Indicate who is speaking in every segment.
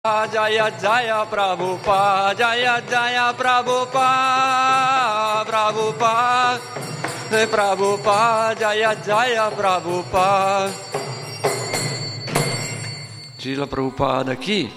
Speaker 1: Jaya Jaya Prabhupada, Jaya Jaya Prabhupada, Prabhupada, Prabhupada, Jaya Jaya Prabhupada. Srila Prabhupada chi?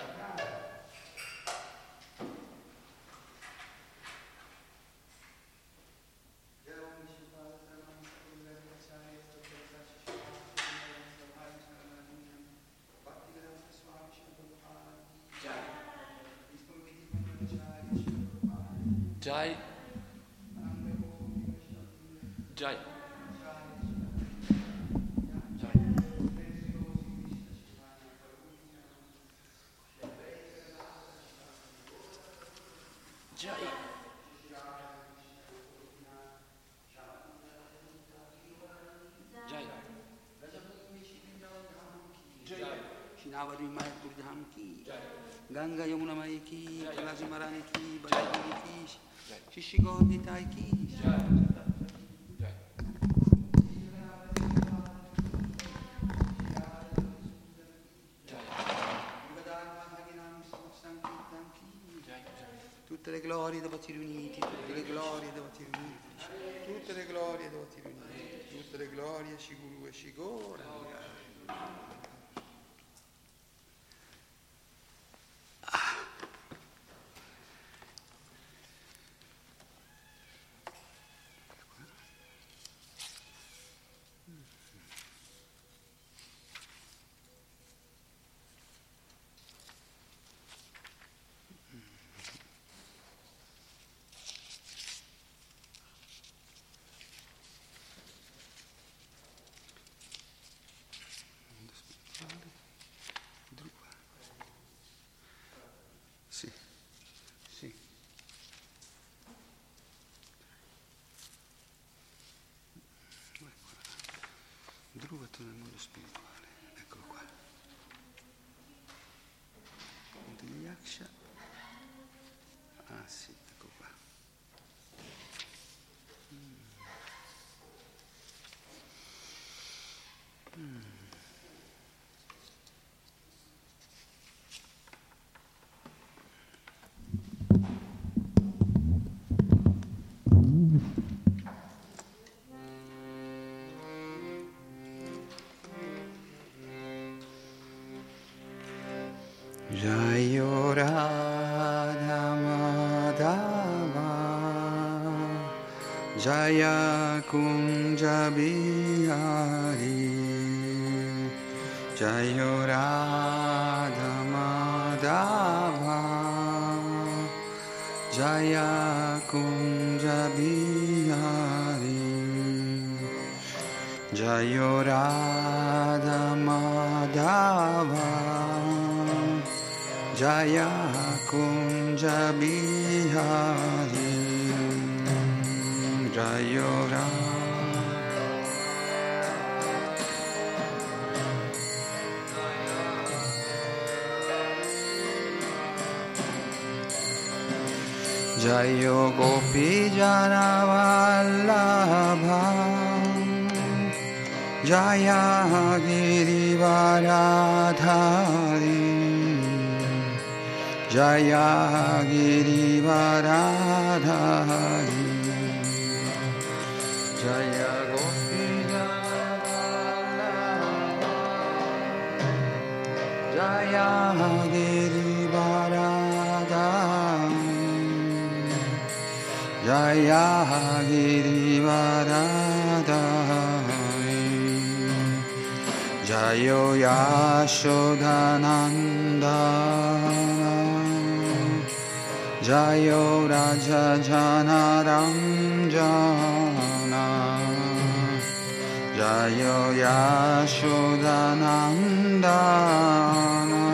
Speaker 1: Jai Jai Jai
Speaker 2: Shinavadi Mayapur Dham ki, Ganga Yamuna Mai ki, Kalasi Marani ki, Bajajiri ki, Shishi Gaudi Tai ki. Tutte le glorie devoti riuniti, tutte le glorie devoti riuniti, tutte le glorie devoti riuniti, tutte le glorie Shiguru e Shigora. Sì, sì. Dhruva nel mondo spirituale, eccolo qua. Punto di Yaksha. Ah sì, ecco qua. Jayo Radha Madhava Jaya Kunja Bihari Jayo Radha Madhava Jaya Kunja Bihari Jayo Radha Madhava Jaya Kunja Bihari Jayo Jayo Gopi Jana Vallabha Jaya Girivaradhari Jaya Girivaradhari Jaya Gopi Jaya Girivaradhari Jaya Girivaradhari Jayo Yashodanandana Jayo Raja Jana Ranjana Jayo Yashodanandana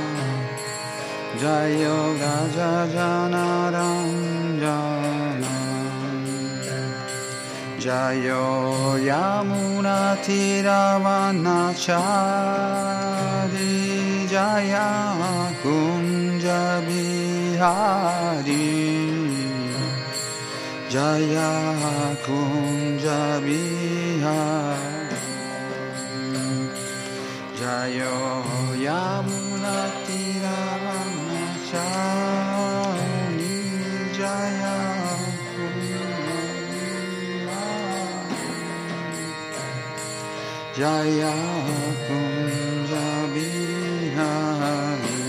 Speaker 2: Jayo Raja Jana Ranjana Jayo Yamuna Tiravanachari Jaya Kunja Bihari Jaya Kunja Bihari Jayo Yamuna Tiravanachari Jaya Kunja Bihari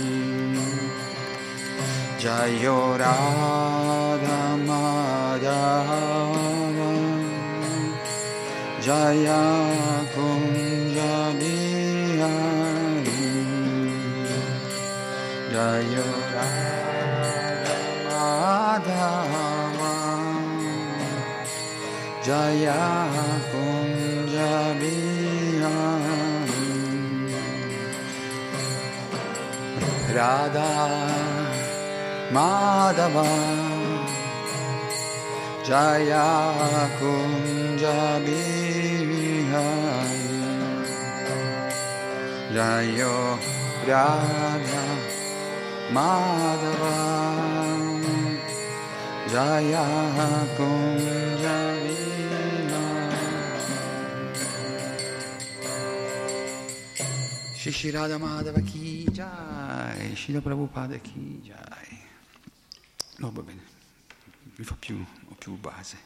Speaker 2: Jayo Radha Madhava Jaya Kunja Bihari Jayo Radha Madhava Jaya Kunja Bihari Radha Madhava Jaya Kunja Bihari Jayo Radha Madhava Jaya Kunja Bihari Shri Radha Madhava Ki Jai, Srila Prabhupada Ki Jai. No, va bene, mi fa più base.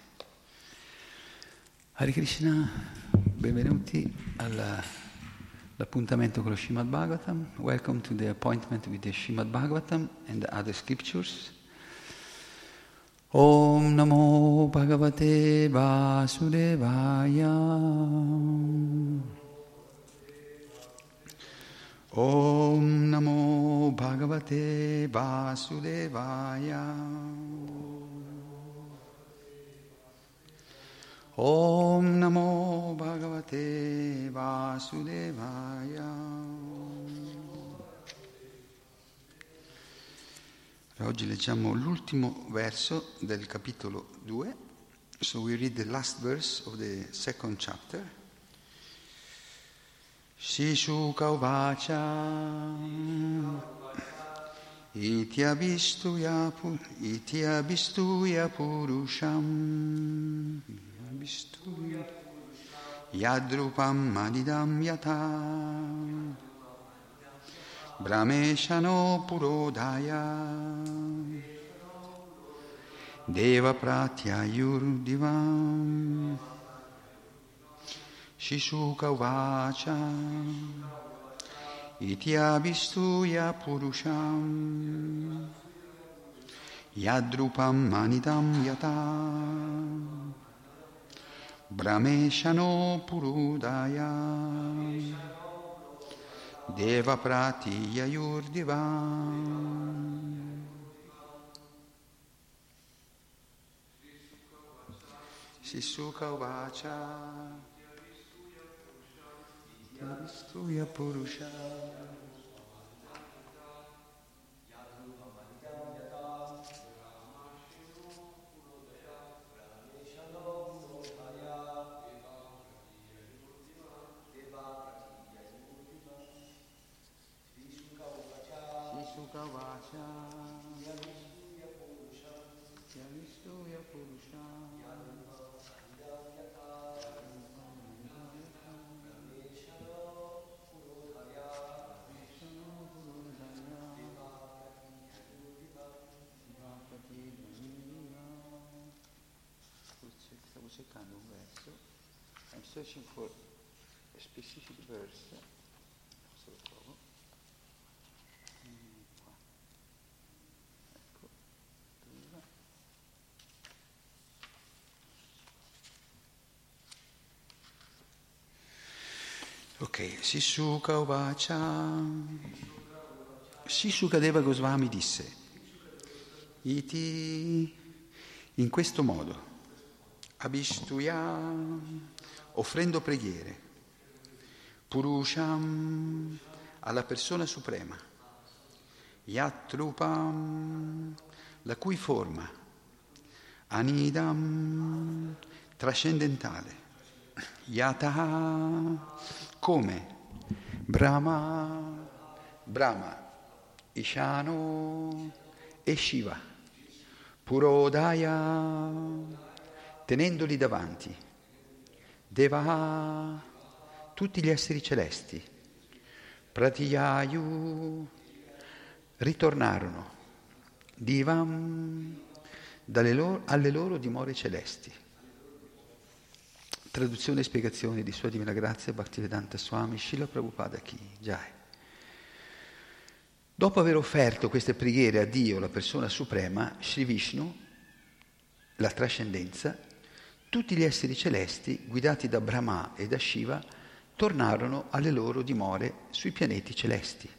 Speaker 2: Hare Krishna, benvenuti all'appuntamento con lo Srimad Bhagavatam. Welcome to the appointment with the Srimad Bhagavatam and the other scriptures. Om Namo Bhagavate Vasudevaya. Om Namo Bhagavate Vasudevaya. Om Namo Bhagavate Vasudevaya. Oggi leggiamo l'ultimo verso del capitolo 2. So we read the last verse of the second chapter. Sisuka uvacha Ityavistuya purusham Yadrupam madidam yata Brahmeshano purodaya Deva pratyayurdivam Shisuka uvacha Ityavistuya purusham Yadrupam manidam yata Brahmeshano purudaya Deva pratiyayurdivam Shisuka uvacha Yadruya Purusha cercando un verso, I'm searching for a specific verse, se lo trovo, qua, ecco, prima. Ok, Sisuka Uvacha, Sisukadeva Goswami disse, Iti, in questo modo, Abhishtuya, offrendo preghiere, Purusham, alla persona suprema, Yatrupam, la cui forma, Anidam, trascendentale, Yataha, come, Brahma, Ishano e Shiva, Purodaya, tenendoli davanti, Deva, tutti gli esseri celesti, Pratiyayu, ritornarono, Divam, alle loro dimore celesti. Traduzione e spiegazione di Sua Divina Grazia Bhaktivedanta Swami Srila Prabhupada Ki Jai. Dopo aver offerto queste preghiere a Dio, la persona suprema, Sri Vishnu, la trascendenza, tutti gli esseri celesti, guidati da Brahma e da Shiva, tornarono alle loro dimore sui pianeti celesti.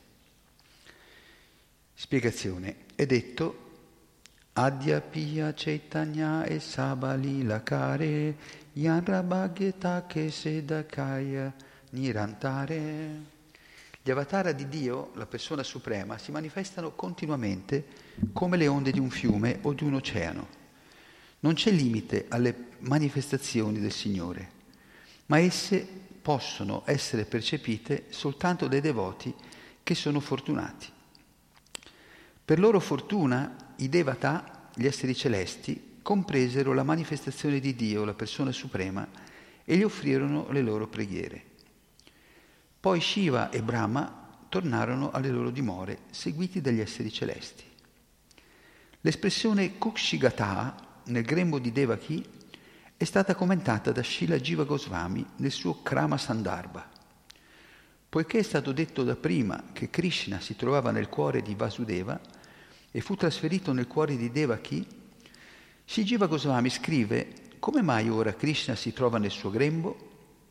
Speaker 2: Spiegazione. È detto Adya Piya Chaitanya e Sabali Lakare Yanra Bhagyata Ke Sedakaya Nirantare. Gli avatara di Dio, la persona suprema, si manifestano continuamente come le onde di un fiume o di un oceano. Non c'è limite alle manifestazioni del Signore, ma esse possono essere percepite soltanto dai devoti che sono fortunati. Per loro fortuna, i Devata, gli esseri celesti, compresero la manifestazione di Dio, la persona suprema, e gli offrirono le loro preghiere. Poi Shiva e Brahma tornarono alle loro dimore, seguiti dagli esseri celesti. L'espressione Kukshigata nel grembo di Devaki è stata commentata da Srila Jiva Goswami nel suo Krama Sandarbha. Poiché è stato detto da prima che Krishna si trovava nel cuore di Vasudeva e fu trasferito nel cuore di Devaki, Sri Jiva Goswami scrive: come mai ora Krishna si trova nel suo grembo?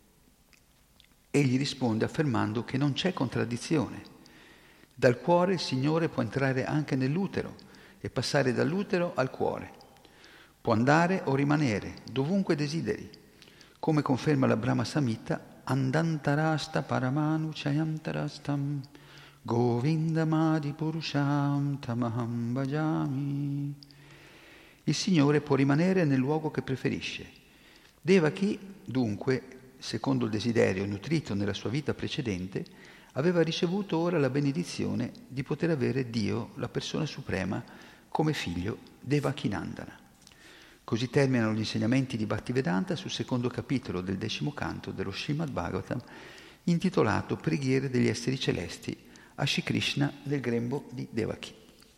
Speaker 2: Egli risponde affermando che non c'è contraddizione. Dal cuore il Signore può entrare anche nell'utero e passare dall'utero al cuore. Può andare o rimanere, dovunque desideri, come conferma la Brahma Samhita, Andantarasta Paramanu Chayantarastam Govindamadi Purusham Tamaham Bhajami. Il Signore può rimanere nel luogo che preferisce. Devaki, dunque, secondo il desiderio nutrito nella sua vita precedente, aveva ricevuto ora la benedizione di poter avere Dio, la persona suprema, come figlio Devakinandana. Così terminano gli insegnamenti di Bhaktivedanta sul secondo capitolo del 10° canto dello Srimad Bhagavatam, intitolato Preghiere degli esseri celesti a Shri Krishna nel grembo di Devaki.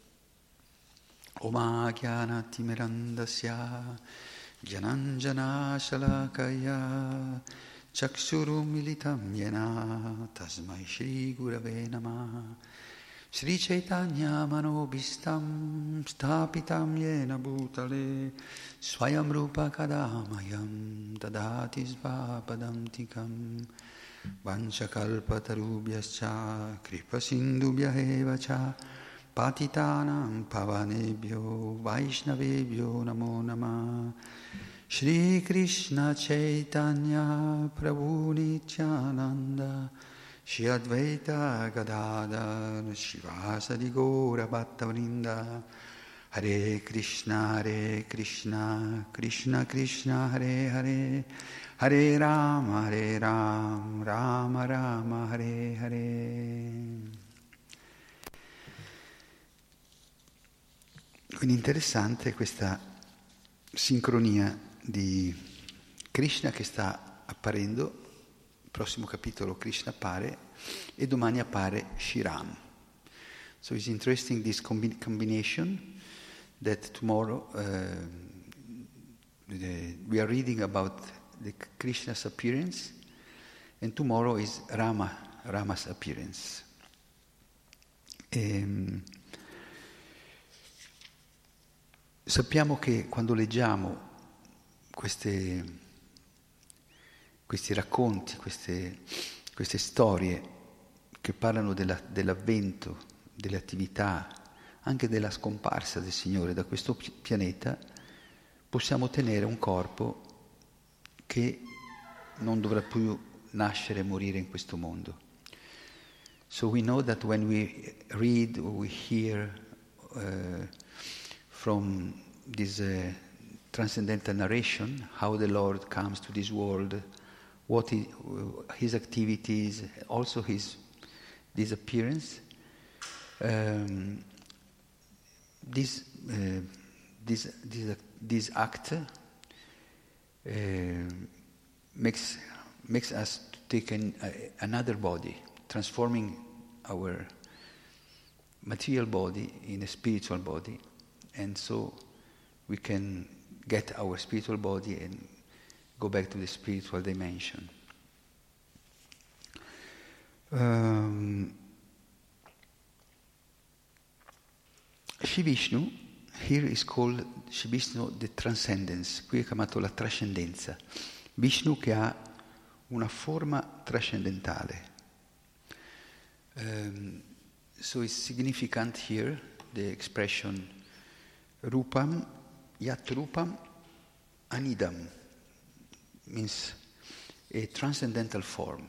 Speaker 2: Oma Gyanati Mirandasya Jananjana Shalakaya Chakshuru Militam Yena Tasmai Shri Gurave Namah Shri Chaitanya Manobhistam Stapitam Yena Bhutale Swayam Rupa Kadamayam Dadati Svapadantikam Vanchakalpatarubhyascha Kripa Sindubhya Eva Cha Patitanam Pavanebhyo Vaishnavebhyo Namo Namah Shri Krishna Chaitanya Prabhu Nityananda Shri Advaita Gadadhar Shivasadi Gaura Bhattavrinda Hare Krishna Krishna Krishna Hare Hare Hare Rama Rama Rama Hare Hare. Quindi interessante questa sincronia di Krishna che sta apparendo. Il prossimo capitolo Krishna appare e domani appare Shri Ram. So it's interesting this combination that tomorrow we are reading about the Krishna's appearance and tomorrow is Rama's appearance. Sappiamo che quando leggiamo questi racconti, queste storie che parlano dell'avvento, delle attività, anche della scomparsa del Signore da questo pianeta, possiamo ottenere un corpo che non dovrà più nascere e morire in questo mondo. So we know that when we read or we hear from this transcendental narration, how the Lord comes to this world, what his activities, also his appearance, this act makes us to take another body, transforming our material body in a spiritual body, and so we can get our spiritual body and go back to the spiritual dimension. Shri Vishnu, here is called Shri Vishnu the Transcendence, qui è chiamato la trascendenza. Vishnu che ha una forma trascendentale. So it's significant here, the expression Rupam, Yat Rupam, Anidam, means a transcendental form.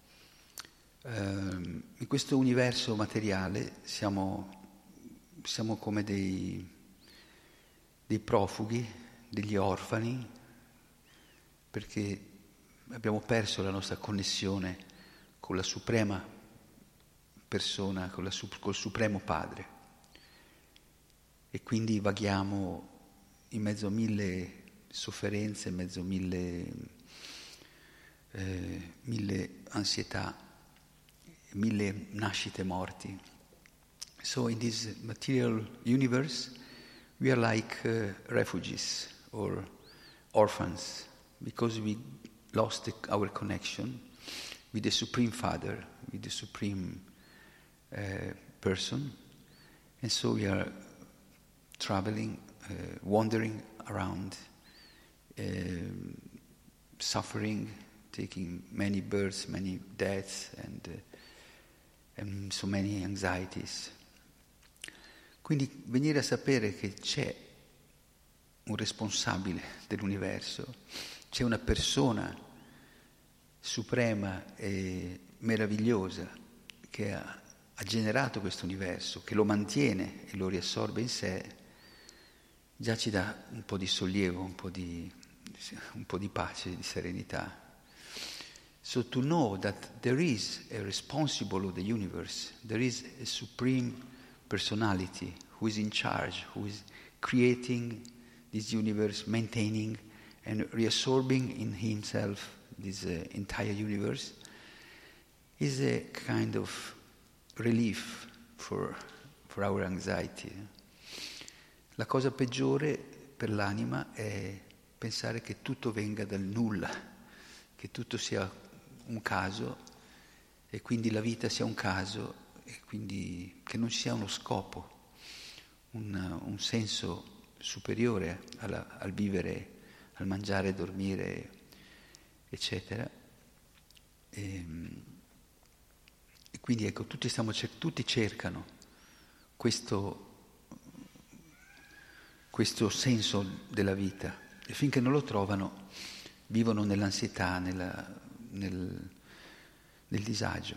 Speaker 2: In questo universo materiale siamo come dei profughi, degli orfani, perché abbiamo perso la nostra connessione con la suprema persona, col supremo Padre. E quindi vaghiamo in mezzo a 1000 sofferenze, in mezzo a 1000 ansietà, 1000 nascite e morti. So in this material universe, we are like refugees or orphans, because we lost our connection with the Supreme Father, with the Supreme person, and so we are traveling, wandering around, suffering, taking many births, many deaths, and so many anxieties. Quindi venire a sapere che c'è un responsabile dell'universo, c'è una persona suprema e meravigliosa che ha generato questo universo, che lo mantiene e lo riassorbe in sé, già ci dà un po' di sollievo, un po' di pace, di serenità. So to know that there is a responsible of the universe, there is a supreme personality who is in charge, who is creating this universe, maintaining and reabsorbing in himself this entire universe, is a kind of relief for our anxiety. La cosa peggiore per l'anima è pensare che tutto venga dal nulla, che tutto sia un caso e quindi la vita sia un caso e quindi che non ci sia uno scopo, un senso superiore al vivere, al mangiare, dormire, eccetera. E quindi ecco, tutti cercano questo senso della vita e finché non lo trovano vivono nell'ansietà, nel disagio.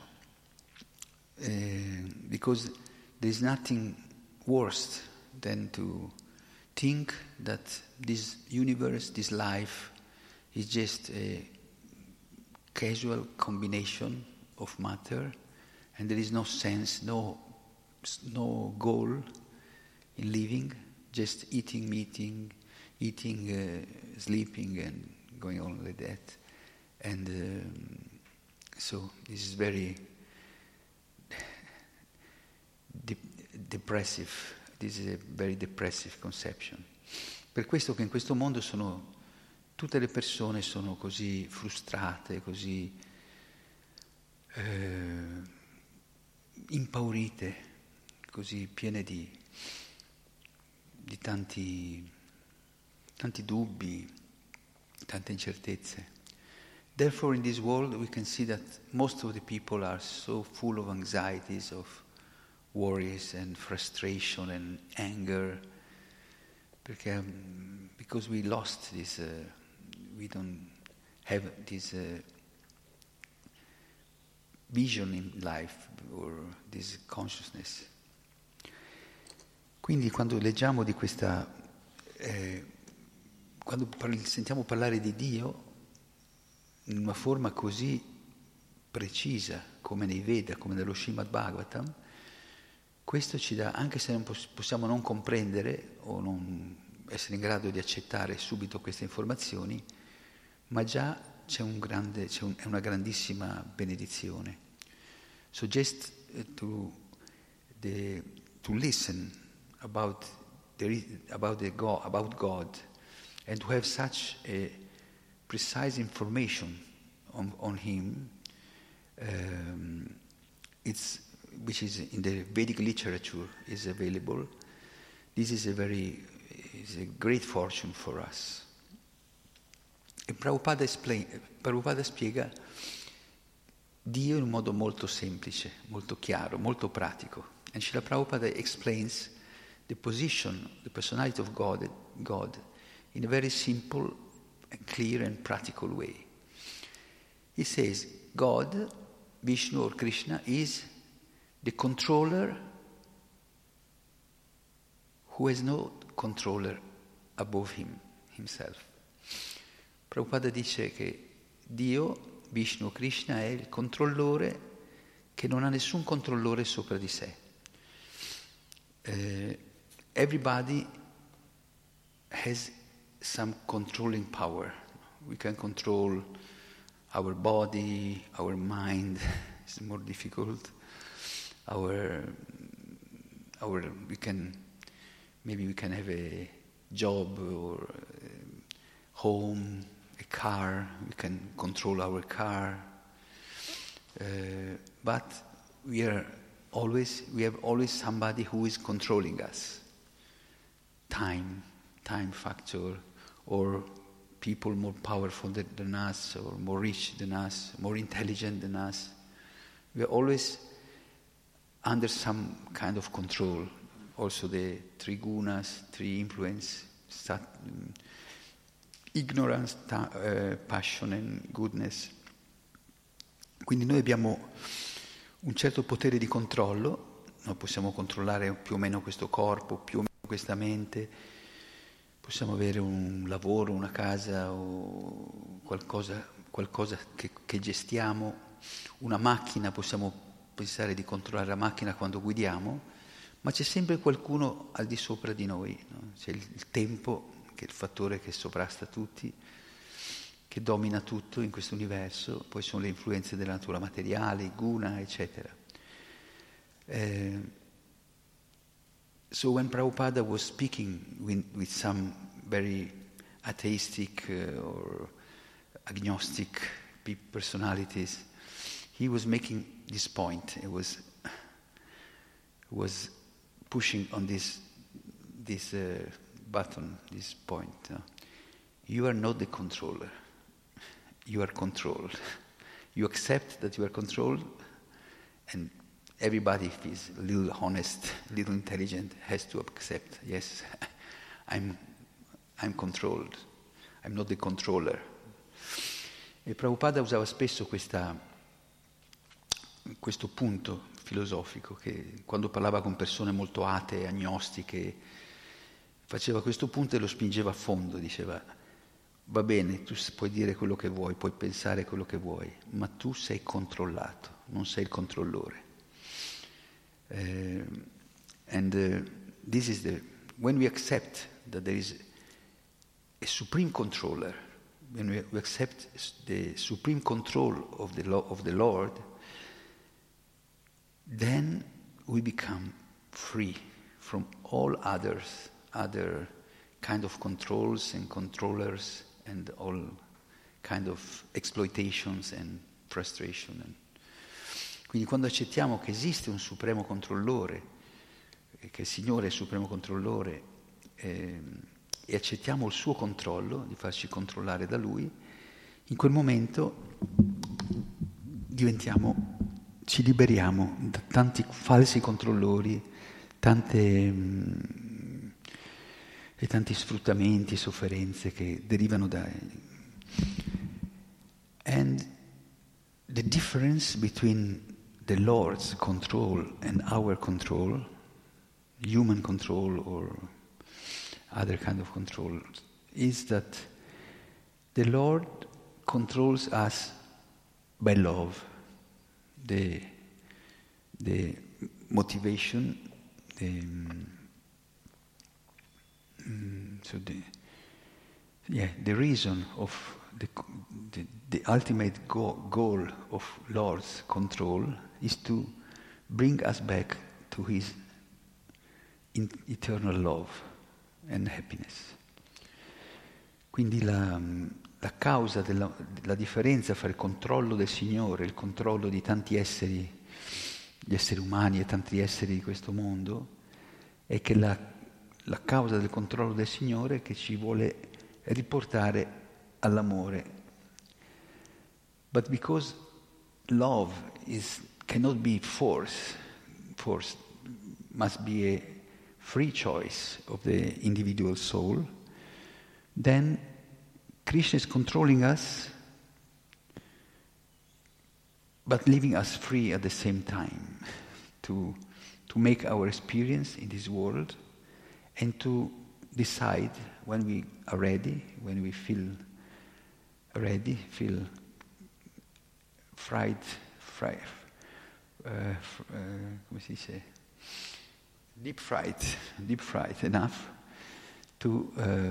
Speaker 2: Because there is nothing worse than to think that this universe, this life, is just a casual combination of matter, and there is no sense, no goal in living, just eating, sleeping, and going on like that. And so this is very depressive. This is a very depressive conception. Per questo che in questo mondo tutte le persone sono così frustrate, così impaurite, così piene di tanti dubbi, tante incertezze. Therefore in this world we can see that most of the people are so full of anxieties, of worries and frustration and anger, because we lost this, we don't have this vision in life or this consciousness. Quindi quando leggiamo di questa, quando sentiamo parlare di Dio in una forma così precisa come nei Veda, come nello Srimad Bhagavatam, questo ci dà, anche se non possiamo non comprendere o non essere in grado di accettare subito queste informazioni, ma già è una grandissima benedizione. So just to listen about God and to have such a precise information on him, which is in the Vedic literature is available. This is a great fortune for us. E Prabhupada spiega Dio in un modo molto semplice, molto chiaro, molto pratico. And Srila Prabhupada explains the position, the personality of God in a very simple and clear and practical way. He says, God, Vishnu or Krishna, is the controller who has no controller above himself. Prabhupada dice che Dio, Vishnu, Krishna, è il controllore che non ha nessun controllore sopra di sé. Everybody has some controlling power. We can control our body, our mind. It's more difficult. We can have a job or a home, a car. We can control our car, but we have always somebody who is controlling us. Time factor, or people more powerful than us, or more rich than us, more intelligent than us. We are always under some kind of control. Also the three gunas, three influence, ignorance, passion and goodness. Quindi noi abbiamo un certo potere di controllo, noi possiamo controllare più o meno questo corpo, più o meno questa mente, possiamo avere un lavoro, una casa o qualcosa che gestiamo, una macchina, possiamo pensare di controllare la macchina quando guidiamo, ma c'è sempre qualcuno al di sopra di noi, no? C'è il tempo, che è il fattore che sovrasta tutti, che domina tutto in questo universo, poi sono le influenze della natura materiale, guna, eccetera. So when Prabhupada was speaking with some very atheistic or agnostic personalities, he was making this point. He was pushing on this button, this point. You are not the controller. You are controlled. You accept that you are controlled, and everybody, if is a little honest, a little intelligent, has to accept, yes, I'm controlled. I'm not the controller. E Prabhupada usava spesso questo punto filosofico, che quando parlava con persone molto atee, agnostiche, faceva questo punto e lo spingeva a fondo, diceva: va bene, tu puoi dire quello che vuoi, puoi pensare quello che vuoi, ma tu sei controllato, non sei il controllore. This is when we accept that there is a supreme controller, when we accept the supreme control of the Lord, then we become free from all other kind of controls and controllers and all kind of exploitations and frustration. Quindi quando accettiamo che esiste un supremo controllore, che il Signore è il supremo controllore, e accettiamo il suo controllo, di farci controllare da Lui, in quel momento ci liberiamo da tanti falsi controllori, e tanti sfruttamenti, sofferenze che derivano da... And the difference between the Lord's control and our control, human control or other kind of control, is that the Lord controls us by love. The motivation, the reason of the ultimate goal of Lord's control is to bring us back to His eternal love and happiness. Quindi la la causa della differenza fra il controllo del Signore e il controllo di tanti esseri, gli esseri umani e tanti esseri di questo mondo, è che la causa del controllo del Signore è che ci vuole riportare all'amore. But because love cannot be forced, must be a free choice of the individual soul, then Krishna is controlling us, but leaving us free at the same time to make our experience in this world and to decide when we are ready, when we feel ready, feel come si dice? Deep fright enough to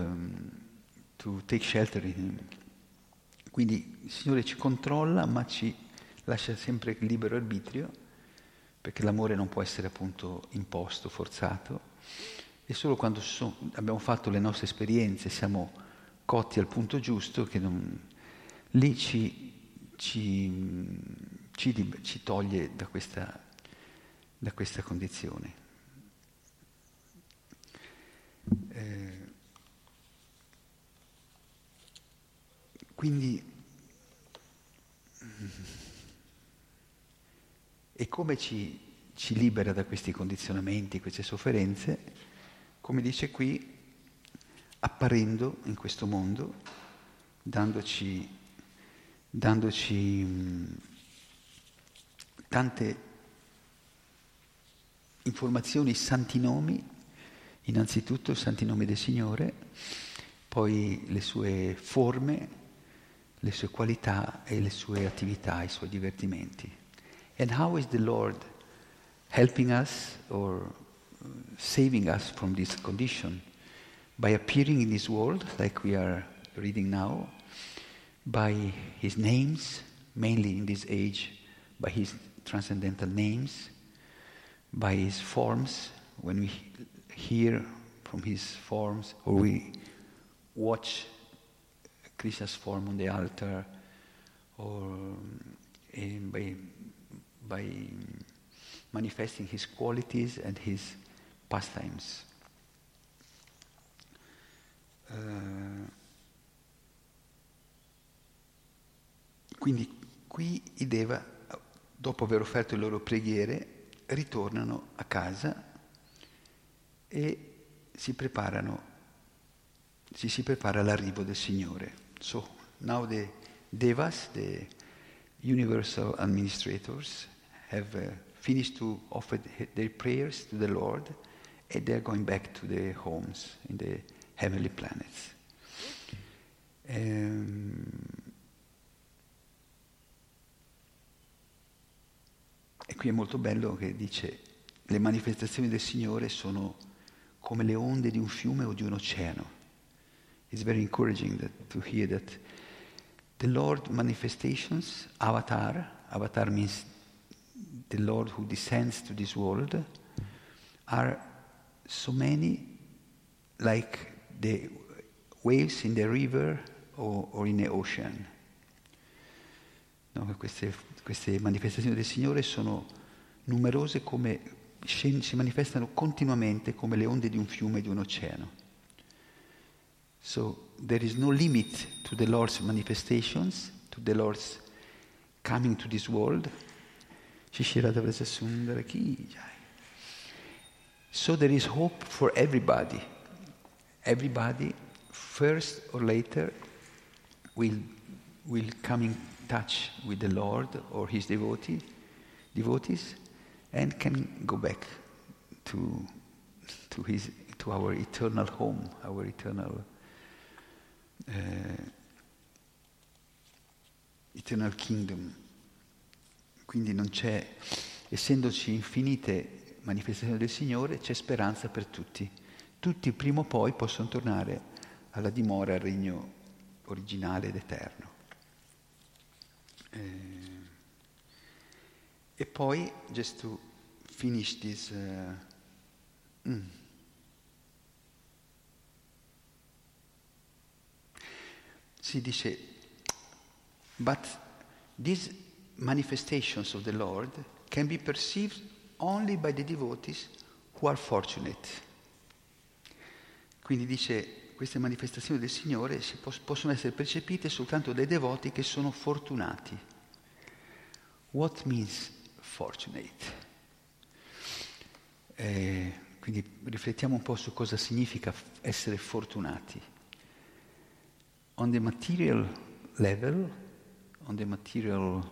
Speaker 2: take shelter in Him. Quindi il Signore ci controlla, ma ci lascia sempre libero arbitrio, perché l'amore non può essere appunto imposto, forzato, e solo quando abbiamo fatto le nostre esperienze, siamo cotti al punto giusto, che lì ci toglie da questa condizione. Quindi, e come ci libera da questi condizionamenti, queste sofferenze? Come dice qui, apparendo in questo mondo, dandoci tante informazioni, santi nomi, innanzitutto i santi nomi del Signore, poi le sue forme, le sue qualità e le sue attività, i suoi divertimenti. And how is the Lord helping us or saving us from this condition? By appearing in this world, like we are reading now, by His names, mainly in this age, by His transcendental names, by His forms, when we hear from His forms, or we watch Krishna's form on the altar, or by manifesting His qualities and His pastimes. Quindi qui i Deva, dopo aver offerto le loro preghiere, ritornano a casa e ci si prepara all'arrivo del Signore. So now the Devas, the universal administrators, have finished to offer their prayers to the Lord, and they are going back to their homes in the heavenly planets. E qui è molto bello che dice: le manifestazioni del Signore sono come le onde di un fiume o di un oceano. It's very encouraging to hear that the Lord manifestations, avatar means the Lord who descends to this world, are so many like the waves in the river or in the ocean. No, queste manifestazioni del Signore sono numerose, si manifestano continuamente come le onde di un fiume e di un oceano. So there is no limit to the Lord's manifestations, to the Lord's coming to this world. So there is hope for everybody. Everybody, first or later, will come in touch with the Lord or His devotees, and can go back to our eternal home, our eternal kingdom. Quindi non c'è, essendoci infinite manifestazioni del Signore, c'è speranza per tutti. Tutti prima o poi possono tornare alla dimora, al regno originale ed eterno. E poi, just to finish this, si dice, but these manifestations of the Lord can be perceived only by the devotees who are fortunate. Quindi dice, queste manifestazioni del Signore possono essere percepite soltanto dai devoti che sono fortunati. What means fortunate? Quindi riflettiamo un po' su cosa significa essere fortunati. On the material level, on the material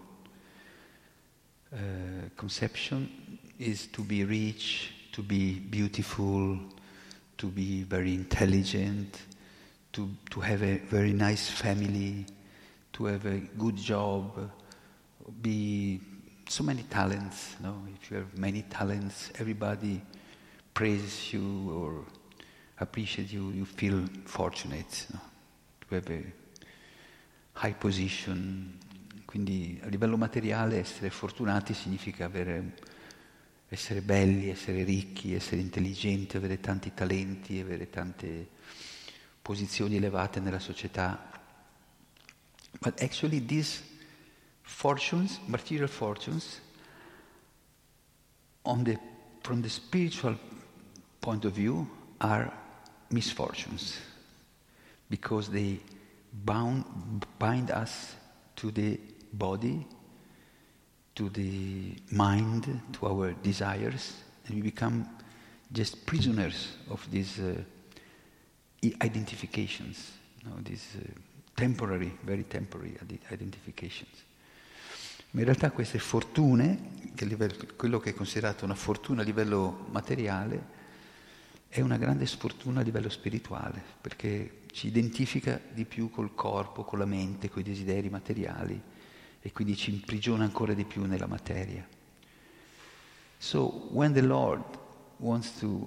Speaker 2: conception is to be rich, to be beautiful, to be very intelligent, to have a very nice family, to have a good job, be so many talents, no? If you have many talents, everybody praises you or appreciates you, you feel fortunate, no? To have a high position. Quindi a livello materiale essere fortunati significa essere belli, essere ricchi, essere intelligenti, avere tanti talenti, avere tante posizioni elevate nella società. But actually these fortunes, material fortunes, from the spiritual point of view, are misfortunes, because they bind us to the body, to the mind, to our desires, and we become just prisoners of these identifications, these temporary, very temporary identifications. Ma in realtà queste fortune, quello che è considerato una fortuna a livello materiale, è una grande sfortuna a livello spirituale, perché ci identifica di più col corpo, con la mente, con i desideri materiali, e quindi ci imprigiona ancora di più nella materia. So, when the Lord wants to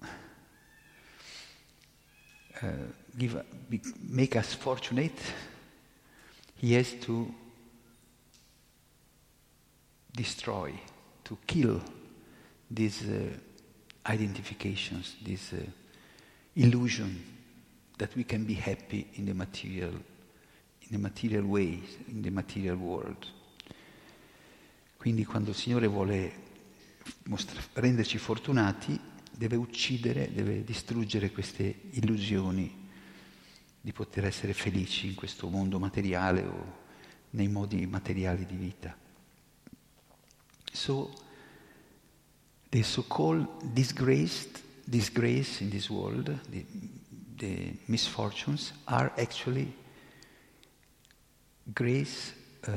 Speaker 2: make us fortunate, He has to destroy, to kill these identifications, this illusion that we can be happy in the material way, in the material world. Quindi quando il Signore vuole renderci fortunati, deve uccidere, deve distruggere queste illusioni di poter essere felici in questo mondo materiale o nei modi materiali di vita. So, the so-called disgrace in this world, the misfortunes, are actually grace,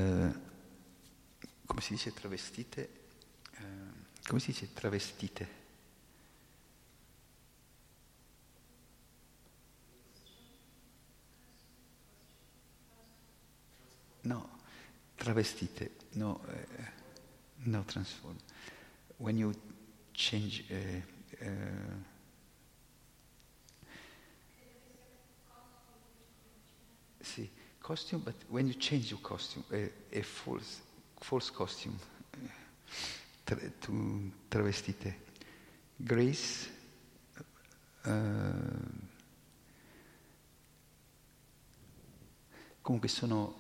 Speaker 2: come si dice travestite? Come si dice travestite? No, travestite, no transform. When you change sì, costume, but when you change your costume, a false costume, travestite. Grace, comunque sono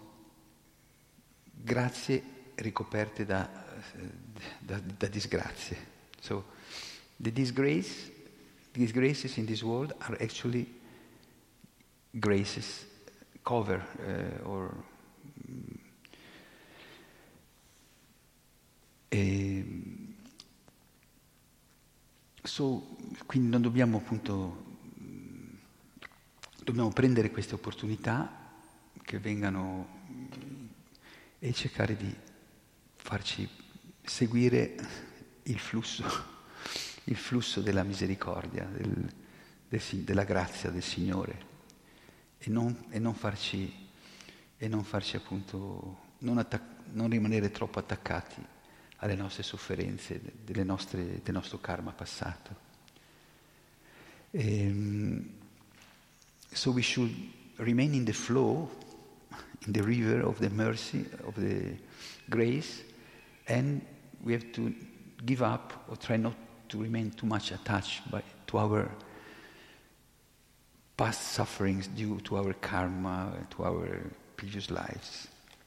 Speaker 2: grazie ricoperte da disgrazie. So, the disgraces in this world are actually graces, cover, quindi non dobbiamo dobbiamo prendere queste opportunità che vengano e cercare di farci seguire il flusso della misericordia, della grazia del Signore e non farci appunto, non rimanere troppo attaccati alle nostre sofferenze, del nostro karma passato. So we should remain in the flow, in the river of the mercy, of the grace, and we have to give up or try not to remain too much attached to our past sufferings due to our karma, to our previous lives.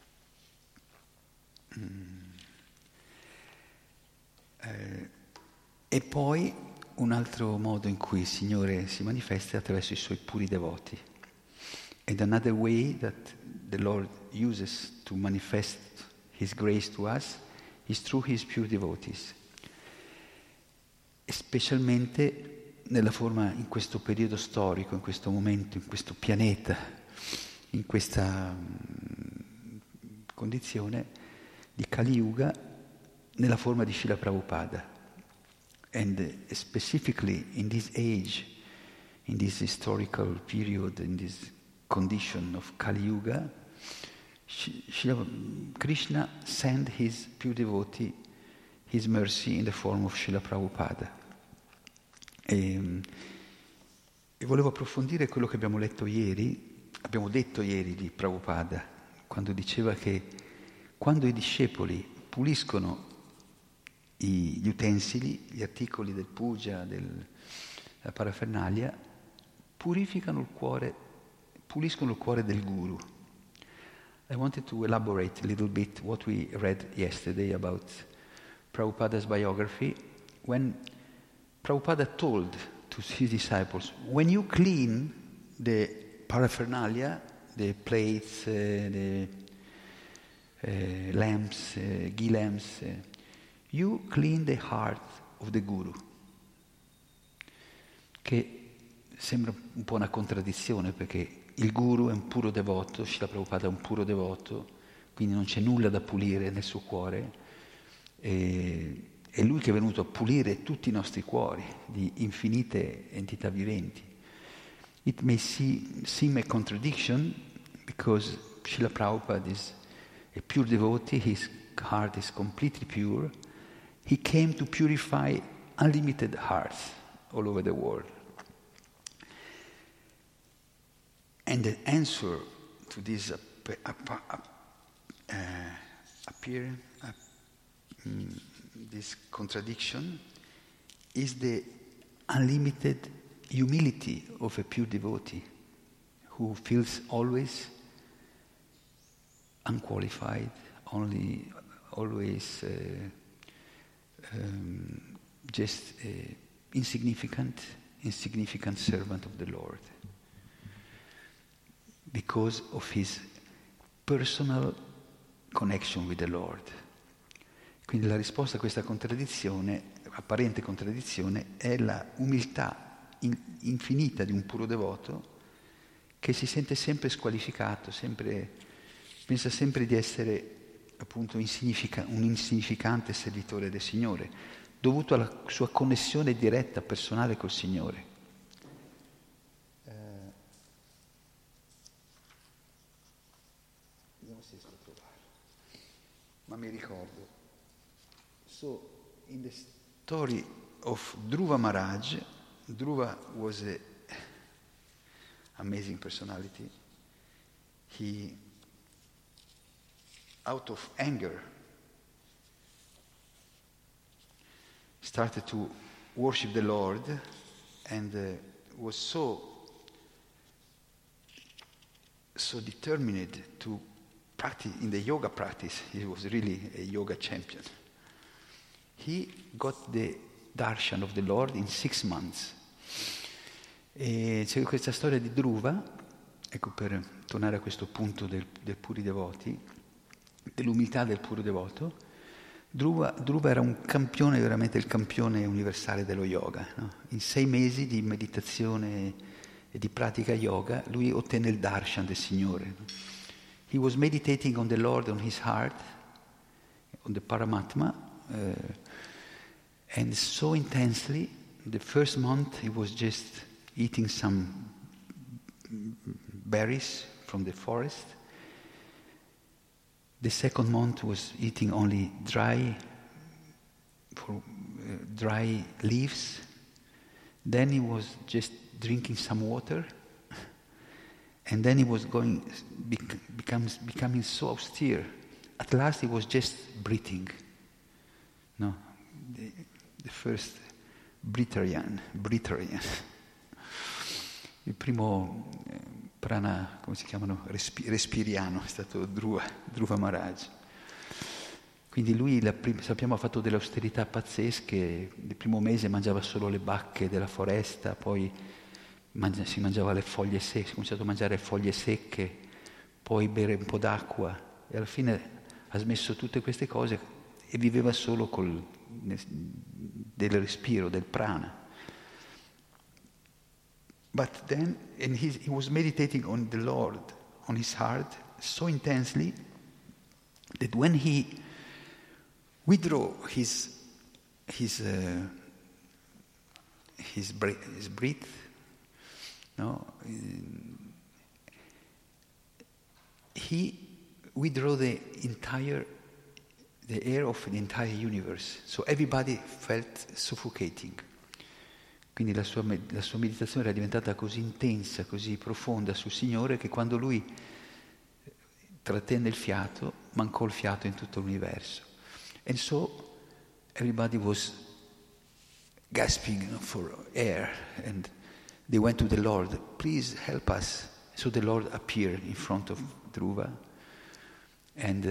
Speaker 2: E poi un altro modo in cui il Signore si manifesta è attraverso i Suoi puri devoti. And another way that the Lord uses to manifest His grace to us is through His pure devotees. E specialmente nella forma, in questo periodo storico, in questo momento, in questo pianeta, in questa condizione di Kali Yuga, nella forma di Srila Prabhupada. And specifically in this age, in this historical period, in this condition of Kali Yuga, Krishna sent his pure devotee, his mercy in the form of Srila Prabhupada. E volevo approfondire quello che abbiamo detto ieri di Prabhupada, quando diceva che quando i discepoli puliscono gli utensili, gli articoli del puja, della parafernalia, puliscono il cuore del guru. I wanted to elaborate a little bit what we read yesterday about Prabhupada's biography, when Prabhupada told to his disciples, when you clean the paraphernalia, the plates, the lamps, ghee lamps, you clean the heart of the Guru. Che sembra un po' una contraddizione, perché il Guru è un puro devoto, Srila Prabhupada è un puro devoto, quindi non c'è nulla da pulire nel suo cuore. È Lui che è venuto a pulire tutti i nostri cuori di infinite entità viventi. It may seem a contradiction, because Srila Prabhupada is a pure devotee, his heart is completely pure. He came to purify unlimited hearts all over the world. And the answer to this this contradiction is the unlimited humility of a pure devotee who feels always unqualified, always just insignificant servant of the Lord, because of his personal connection with the Lord. Quindi la risposta a questa contraddizione, apparente contraddizione, è la umiltà infinita di un puro devoto che si sente sempre squalificato, pensa sempre di essere appunto un insignificante servitore del Signore, dovuto alla sua connessione diretta, personale col Signore. Vediamo se riesco a trovare. Ma mi ricordo. So, in the story of Dhruva Maharaj, Dhruva was an amazing personality. He, out of anger, started to worship the Lord and was so determined to practice in the yoga practice. He was really a yoga champion. He got the darshan of the Lord in 6 months. E c'è questa storia di Dhruva, ecco, per tornare a questo punto del puri devoti, dell'umiltà del puro devoto. Dhruva era un campione, veramente il campione universale dello yoga, no? In 6 mesi di meditazione e di pratica yoga, lui ottenne il darshan del Signore. He was meditating on the Lord, on his heart, on the Paramatma, and so intensely. The first month he was just eating some berries from the forest. The second month was eating only dry leaves. Then he was just drinking some water, and then he was becoming so austere. At last he was just breathing. No, the first Brittarian. Il primo prana, come si chiamano, respiriano, è stato Dhruva Maharaj. Quindi lui, sappiamo, ha fatto delle austerità pazzesche. Il primo mese mangiava solo le bacche della foresta, poi si mangiava le foglie secche, si è cominciato a mangiare foglie secche, poi bere un po' d'acqua, e alla fine ha smesso tutte queste cose e viveva solo del respiro, del prana. But then, he was meditating on the Lord, on his heart, so intensely that when he withdrew his breath, no, he withdrew the air of the entire universe. So everybody felt suffocating. Quindi la sua meditazione era diventata così intensa, così profonda sul Signore, che quando lui trattenne il fiato, mancò il fiato in tutto l'universo. And so everybody was gasping for air, and they went to the Lord, please help us. So the Lord appeared in front of Dhruva, and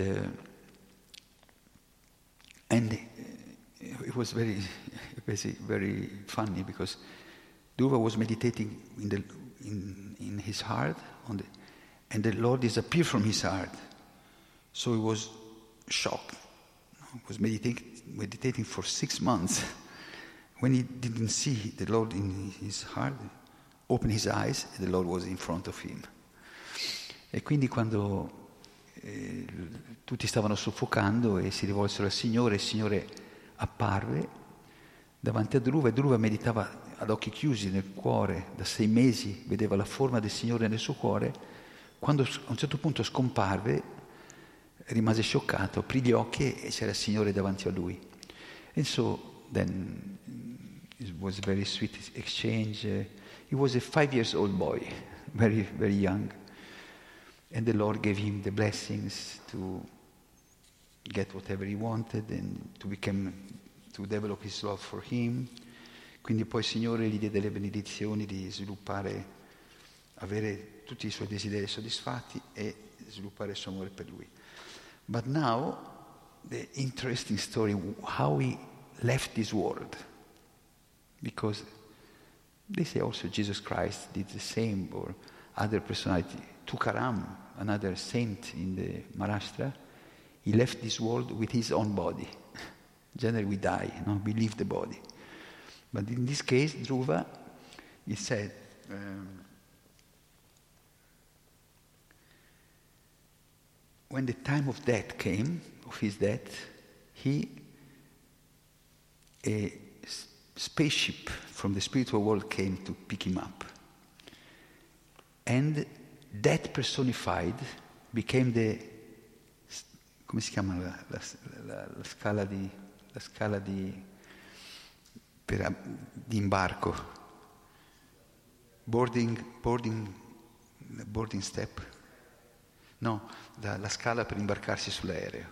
Speaker 2: it was very funny, because Dhruva was meditating in his heart, and the Lord disappeared from his heart. So he was shocked. He was meditating for 6 months. When he didn't see the Lord in his heart, opened his eyes, and the Lord was in front of him. E quindi quando tutti stavano soffocando e si rivolsero al Signore, il Signore apparve davanti a Dhruva, e Dhruva meditava ad occhi chiusi nel cuore, da 6 mesi vedeva la forma del Signore nel suo cuore. Quando a un certo punto scomparve, rimase scioccato, aprì gli occhi e c'era il Signore davanti a lui. And so then it was a very sweet exchange. He was a 5-year-old boy, very, very young. And the Lord gave him the blessings to get whatever he wanted and to develop his love for him. Quindi poi il Signore gli diede le benedizioni di sviluppare, avere tutti i suoi desideri soddisfatti e sviluppare il suo amore per lui. But now, the interesting story, how he left this world. Because they say also Jesus Christ did the same, or other personality. Tukaram, another saint in the Maharashtra, he left this world with his own body. Generally we die, no? We leave the body. But in this case, Dhruva, he said, when the time of death came, of his death, a spaceship from the spiritual world came to pick him up. And death personified became come si chiama la scala di imbarco, boarding step, no, la scala per imbarcarsi sull'aereo,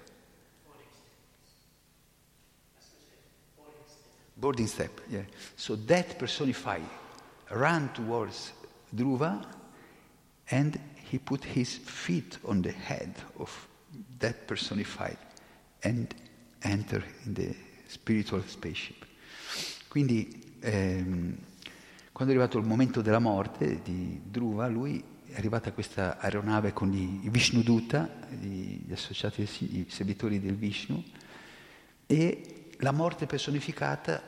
Speaker 2: boarding step, yeah. So death personified ran towards Dhruva, and he put his feet on the head of that personified and entered in the spiritual spaceship. Quindi quando è arrivato il momento della morte di Dhruva, lui è arrivata a questa aeronave con i Vishnuduta, gli associati, i servitori del Vishnu, e la morte personificata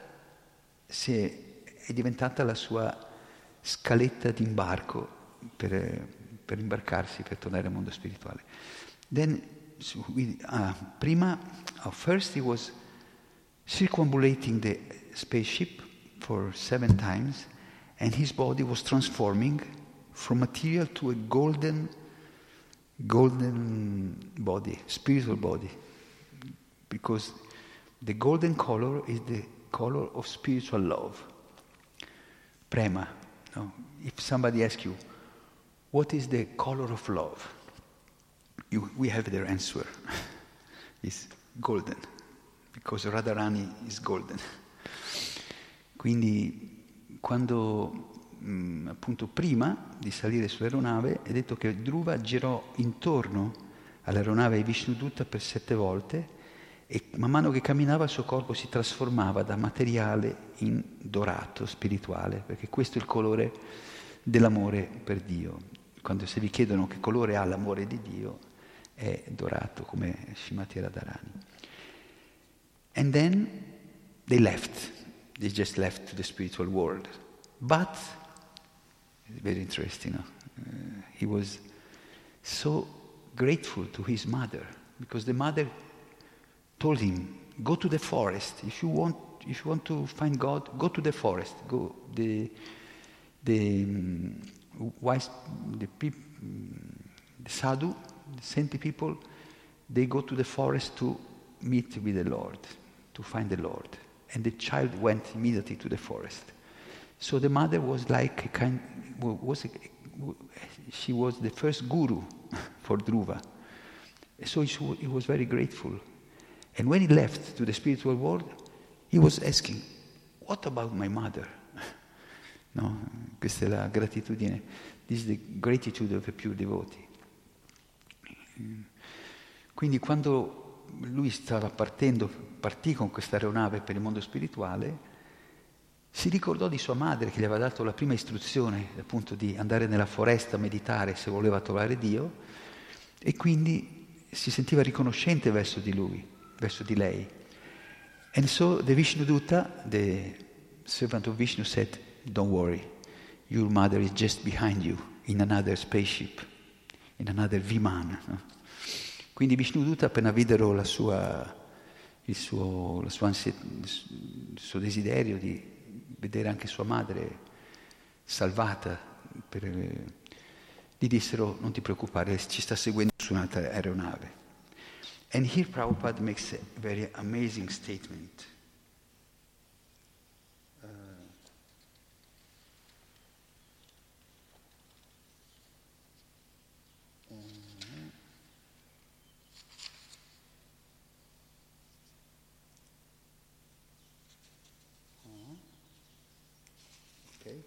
Speaker 2: è diventata la sua scaletta d'imbarco per imbarcarsi, per tornare al mondo spirituale. Then, first he was circumambulating the spaceship for 7 times, and his body was transforming from material to a golden body, spiritual body, because the golden color is the color of spiritual love, prema. No? If somebody asks you, what is the color of love? We have their answer. It's golden, because Radharani is golden. Quindi quando appunto prima di salire sull'aeronave, è detto che Dhruva girò intorno all'aeronave di Vishnudutta per 7 volte e man mano che camminava il suo corpo si trasformava da materiale in dorato spirituale, perché questo è il colore dell'amore per Dio. Quando se vi chiedono che colore ha l'amore di Dio, è dorato come Srimati Radharani. And then they just left to the spiritual world. But, it's very interesting, he was so grateful to his mother, because the mother told him, go to the forest. If you want to find God, go to the forest. Go the sadhu, the saintly people, they go to the forest to meet with the Lord, to find the Lord. And the child went immediately to the forest. So the mother was like she was the first guru for Dhruva. So he was very grateful. And when he left to the spiritual world, he was asking, what about my mother? No? Questa è la gratitudine. This is the gratitude of a pure devotee. Quindi quando lui stava partì con questa aeronave per il mondo spirituale, si ricordò di sua madre che gli aveva dato la prima istruzione, appunto, di andare nella foresta a meditare se voleva trovare Dio, e quindi si sentiva riconoscente verso di lui, verso di lei. And so the Vishnudutta, the servant of Vishnu, said, don't worry, your mother is just behind you in another spaceship, in another Viman. No? Quindi Vishnudutta, appena videro il suo desiderio di vedere anche sua madre salvata, gli dissero, non ti preoccupare, ci sta seguendo su un'altra aeronave. And here Prabhupada makes a very amazing statement. Okay.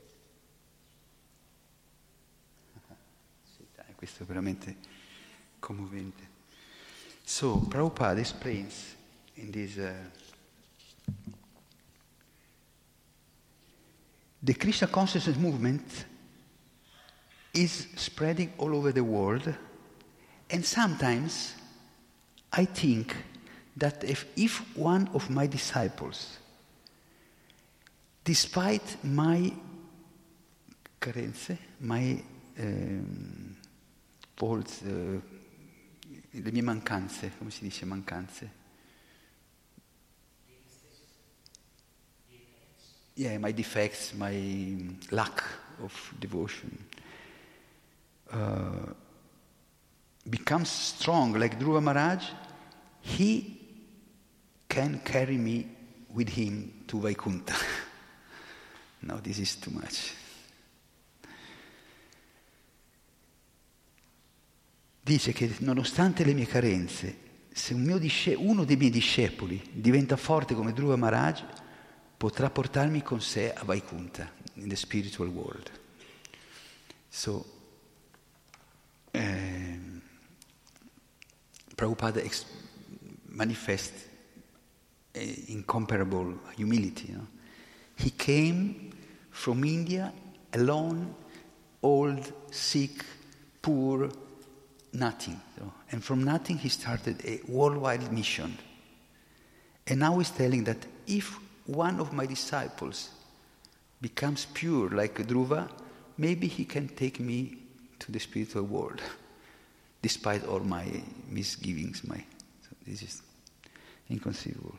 Speaker 2: Sì, dai, questo è veramente commovente. So, Prabhupada explains in this, the Krishna consciousness movement is spreading all over the world, and sometimes I think that if one of my disciples, despite my carenze, my faults, le mie mancanze, come si dice mancanze? Yeah, my defects, my lack of devotion, becomes strong like Dhruva Maharaj, he can carry me with him to Vaikuntha. No, this is too much. Dice che nonostante le mie carenze, se uno dei miei discepoli diventa forte come Dhruva Maharaj, potrà portarmi con sé a Vaikuntha, in the spiritual world. So, Prabhupada manifests incomparable humility. No? He came from India alone, old, sick, poor, nothing. So, and from nothing he started a worldwide mission. And now he's telling that if one of my disciples becomes pure like Dhruva, maybe he can take me to the spiritual world, despite all my misgivings. So this is inconceivable.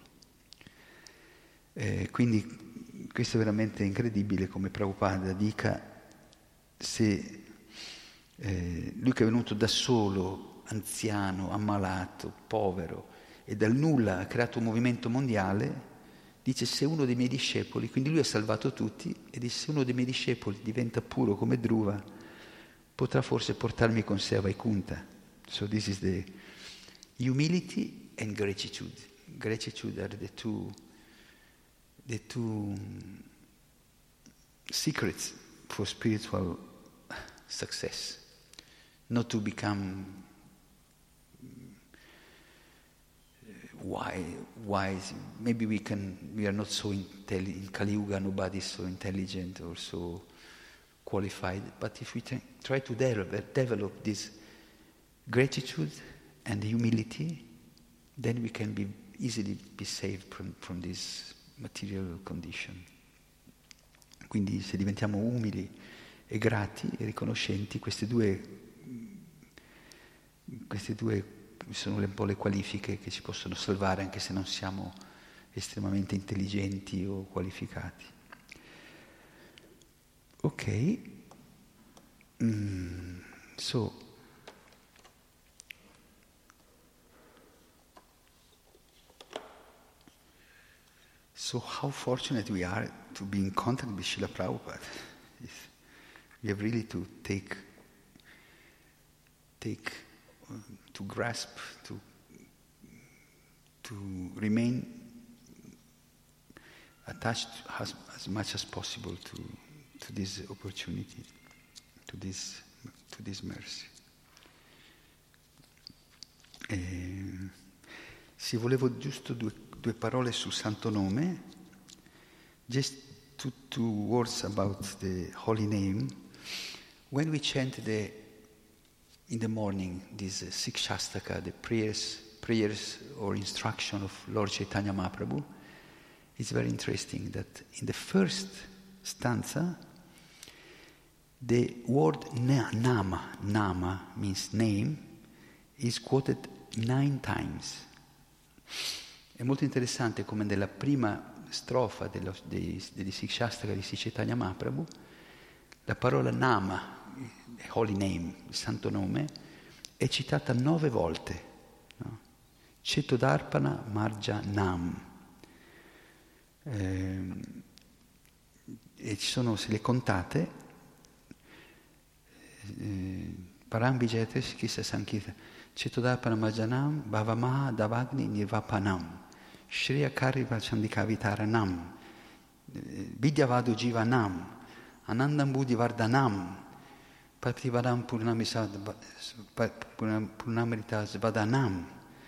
Speaker 2: Quindi questo è veramente incredibile come Prabhupada dica, se lui che è venuto da solo, anziano, ammalato, povero, e dal nulla ha creato un movimento mondiale, dice se uno dei miei discepoli, quindi lui ha salvato tutti, e dice se uno dei miei discepoli diventa puro come Dhruva, potrà forse portarmi con sé a Vaikuntha. So this is the humility and gratitude. Gratitude are the two secrets for spiritual success, not to become wise. Maybe we are not so intelligent. In Kali Yuga, nobody is so intelligent or so qualified. But if we try to develop this gratitude and humility, then we can easily be saved from this material condition. Quindi se diventiamo umili e grati e riconoscenti, queste due sono un po' le qualifiche che ci possono salvare anche se non siamo estremamente intelligenti o qualificati. Ok, So how fortunate we are to be in contact with Srila Prabhupada. We have really to to grasp, to remain attached as much as possible to this opportunity, to this mercy. Sì, volevo giusto due parole sul Santo Nome, just two words about the holy name. When we chant in the morning this Sikshastaka, the prayers or instruction of Lord Chaitanya Mahaprabhu, it's very interesting that in the first stanza, the word nama means name, is quoted 9 times. È molto interessante come nella prima strofa degli Sikshastaka di Sri Chaitanya Mahaprabhu la parola Nama, Holy Name, il Santo Nome, è citata 9 volte. No? Cetodarpana Marja Nam. E ci sono, se le contate, Param Vijayates Kisa Sankirta, Cetodarpana Marja Nam, Bhavamaha Davagni Nirvapanam, Shriya Kariva Chandikavitaranam, Vidyavadu Jivanam, Anandam Buddhi Vardhanam, Pativaram Purnamrita Svadanam,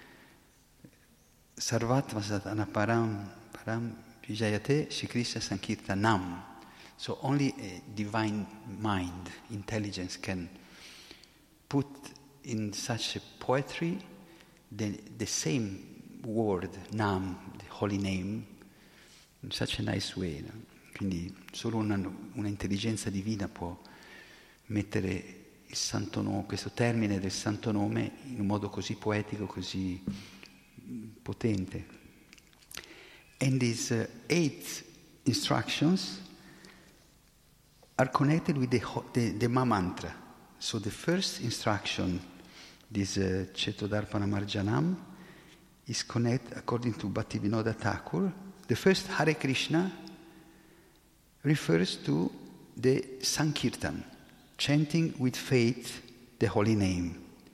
Speaker 2: Sarvatva Sadhana Param Vijayate Shikrishna Sankirtanam. So only a divine mind, intelligence can put in such a poetry the same word, Nam, the holy name, in such a nice way. No? Quindi solo una intelligenza divina può mettere il santo nome, questo termine del santo nome in un modo così poetico, così potente. And these 8 instructions are connected with the mantra. So the first instruction, this Cetodarpana Marjanam, is connected according to Bhaktivinoda Thakur. The first Hare Krishna refers to the Sankirtan, chanting with faith the holy name.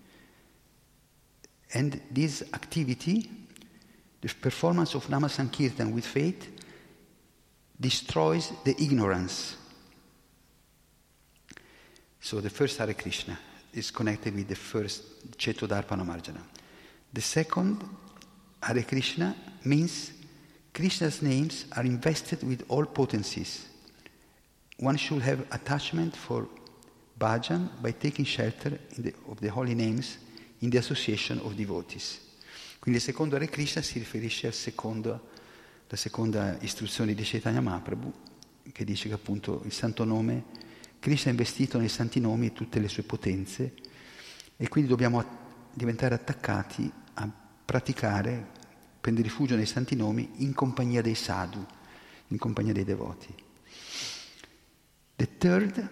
Speaker 2: And this activity, the performance of Nama Sankirtan with faith, destroys the ignorance. So the first Hare Krishna is connected with the first Cetodarpana Marjana. The second Hare Krishna means Krishna's names are invested with all potencies. One should have attachment for bhajan by taking shelter of the holy names in the association of devotees. Quindi il secondo Hare Krishna si riferisce alla seconda istruzione di Chaitanya Mahaprabhu, che dice che appunto il santo nome, Krishna è investito nei santi nomi e tutte le sue potenze, e quindi dobbiamo diventare attaccati a praticare, prendere rifugio nei santi nomi in compagnia dei sadhu, in compagnia dei devoti. The third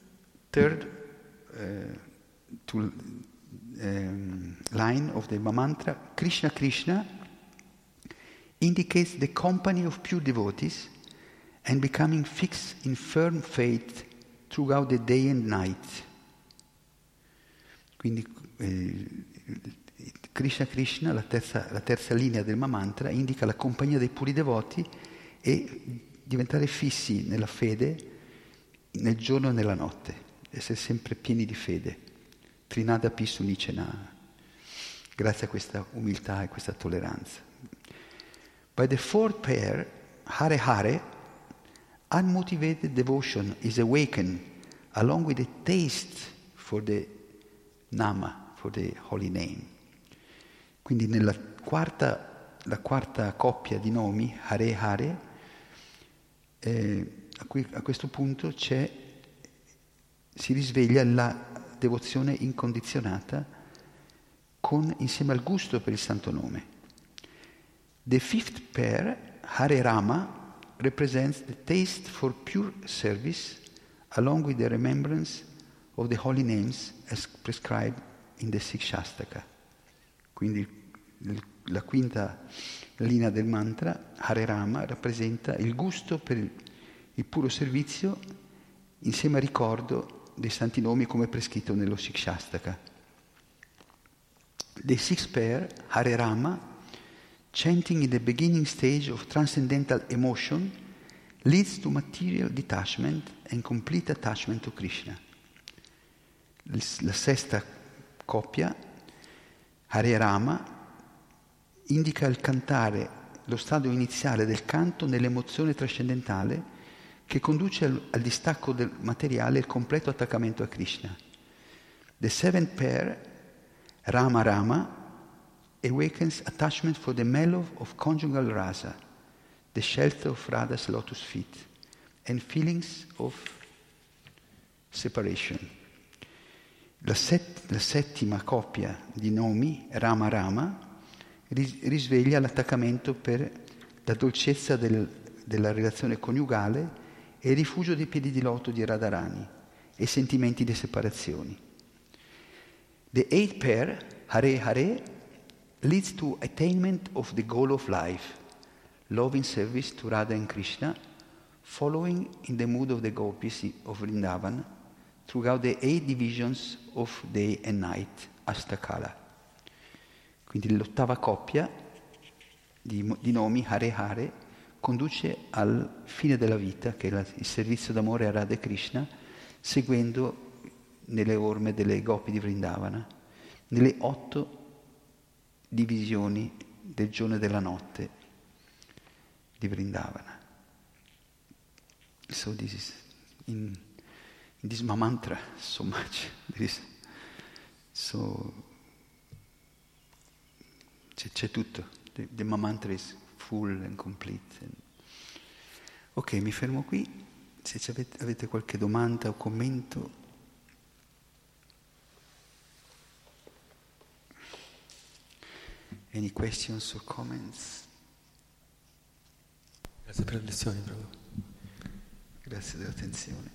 Speaker 2: line of the mantra, Krishna Krishna, indicates the company of pure devotees and becoming fixed in firm faith throughout the day and night. Quindi Krishna Krishna, la terza linea del mantra, indica la compagnia dei puri devoti e diventare fissi nella fede nel giorno e nella notte, essere sempre pieni di fede. Trinada Pisu Nicena, grazie a questa umiltà e questa tolleranza. By the fourth pair, Hare Hare, unmotivated devotion is awakened along with the taste for the Nama, for the holy name. Quindi la quarta coppia di nomi, Hare Hare, a questo punto si risveglia la devozione incondizionata insieme al gusto per il santo nome. The fifth pair, Hare Rama, represents the taste for pure service along with the remembrance of the holy names as prescribed in the Sikshastaka. Quindi la quinta linea del mantra, Hare Rama, rappresenta il gusto per il puro servizio insieme al ricordo dei santi nomi come prescritto nello Sikshastaka. The sixth pair, Hare Rama, chanting in the beginning stage of transcendental emotion, leads to material detachment and complete attachment to Krishna. La sesta coppia, Hare Rama, indica il cantare, lo stadio iniziale del canto nell'emozione trascendentale che conduce al distacco del materiale e il completo attaccamento a Krishna. The seventh pair, Rama Rama, awakens attachment for the mellow of conjugal rasa, the shelter of Radha's lotus feet, and feelings of separation. La settima coppia di nomi, Rama Rama, risveglia l'attaccamento per la dolcezza della relazione coniugale e il rifugio dei piedi di loto di Radharani e sentimenti di separazione. The eighth pair, Hare Hare, leads to attainment of the goal of life, love in service to Radha and Krishna, following in the mood of the gopis of Vrindavan throughout the 8 divisions of day and night, Astakala. Quindi l'ottava coppia di nomi, Hare Hare, conduce al fine della vita, che è il servizio d'amore a Radha e Krishna, seguendo nelle orme delle gopi di Vrindavana, nelle 8 divisioni del giorno e della notte di Vrindavana. So this is in this mantra so much. There is c'è tutto. The mantra is full and complete. Ok, mi fermo qui. Se avete qualche domanda o commento. Any questions or comments?
Speaker 3: Grazie per le lezioni, Prabhu.
Speaker 2: Grazie dell'attenzione.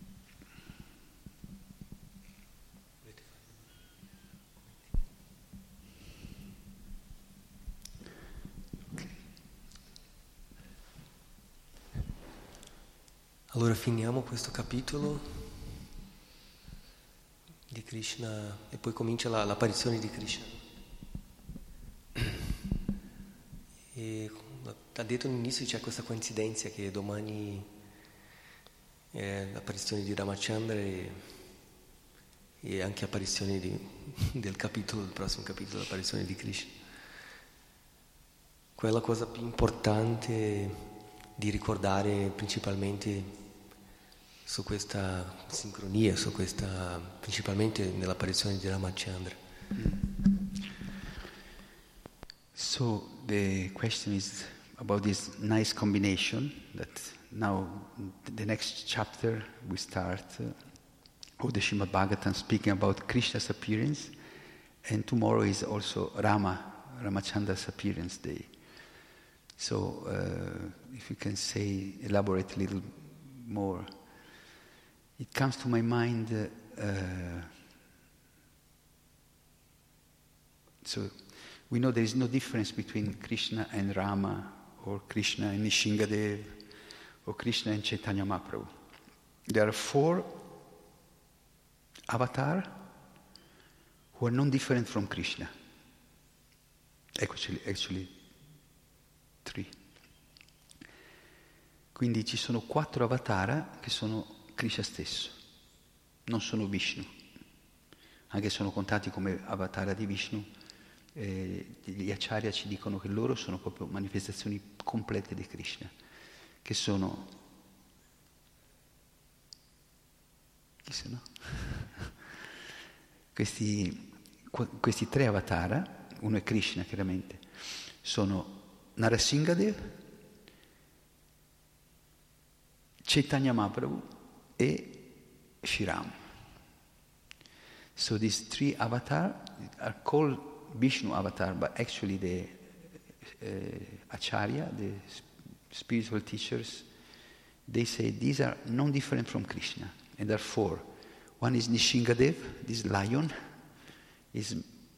Speaker 3: Allora finiamo questo capitolo di Krishna e poi comincia l'apparizione di Krishna. E ha detto all'inizio c'è questa coincidenza che domani è l'apparizione di Ramachandra e anche apparizione del prossimo capitolo, l'apparizione di Krishna. Quella cosa più importante di ricordare principalmente su questa sincronia, principalmente nell'apparizione di Ramachandra.
Speaker 2: So the question is about this nice combination that now the next chapter we start of the Srimad Bhagavatam speaking about Krishna's appearance, and tomorrow is also Ramachandra's appearance day. So if you can elaborate a little more. It comes to my mind, so we know there is no difference between Krishna and Rama, or Krishna and Nishingadev, or Krishna and Chaitanya Mahaprabhu. There are 4 avatars who are non-different from Krishna. Actually 3. Quindi ci sono 4 avatara che sono Krishna stesso, non sono Vishnu, anche sono contati come avatara di Vishnu. Gli acharya ci dicono che loro sono proprio manifestazioni complete di Krishna, che sono... Chi sono? Questi 3 avatara, uno è Krishna chiaramente, sono Narasimhadev, Chaitanya Mahaprabhu e Shriram. So these 3 avatars are called Vishnu avatar, but actually the Acharya, the spiritual teachers, they say these are non different from Krishna, and there are 4. One is Nishingadev, this lion, is